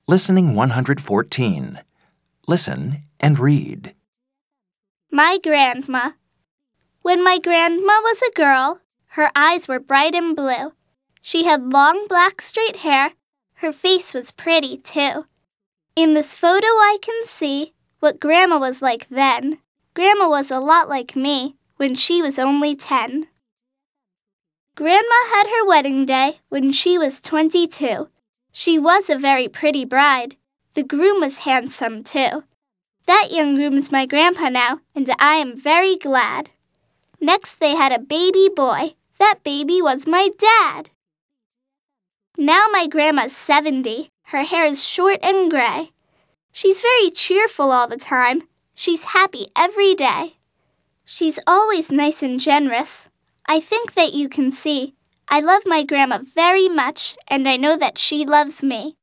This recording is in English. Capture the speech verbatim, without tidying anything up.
Listening one hundred fourteen. Listen and read. My grandma. When my grandma was a girl, her eyes were bright and blue. She had long black straight hair. Her face was pretty, too. In this photo I can see what Grandma was like then. Grandma was a lot like me when she was only ten. Grandma had her wedding day when she was twenty-two. She was a very pretty bride. The groom was handsome, too. That young groom's my grandpa now, and I am very glad. Next they had a baby boy. That baby was my dad. Now my grandma's seventy. Her hair is short and gray. She's very cheerful all the time. She's happy every day. She's always nice and generous. I think that you can see I love my grandma very much, and I know that she loves me.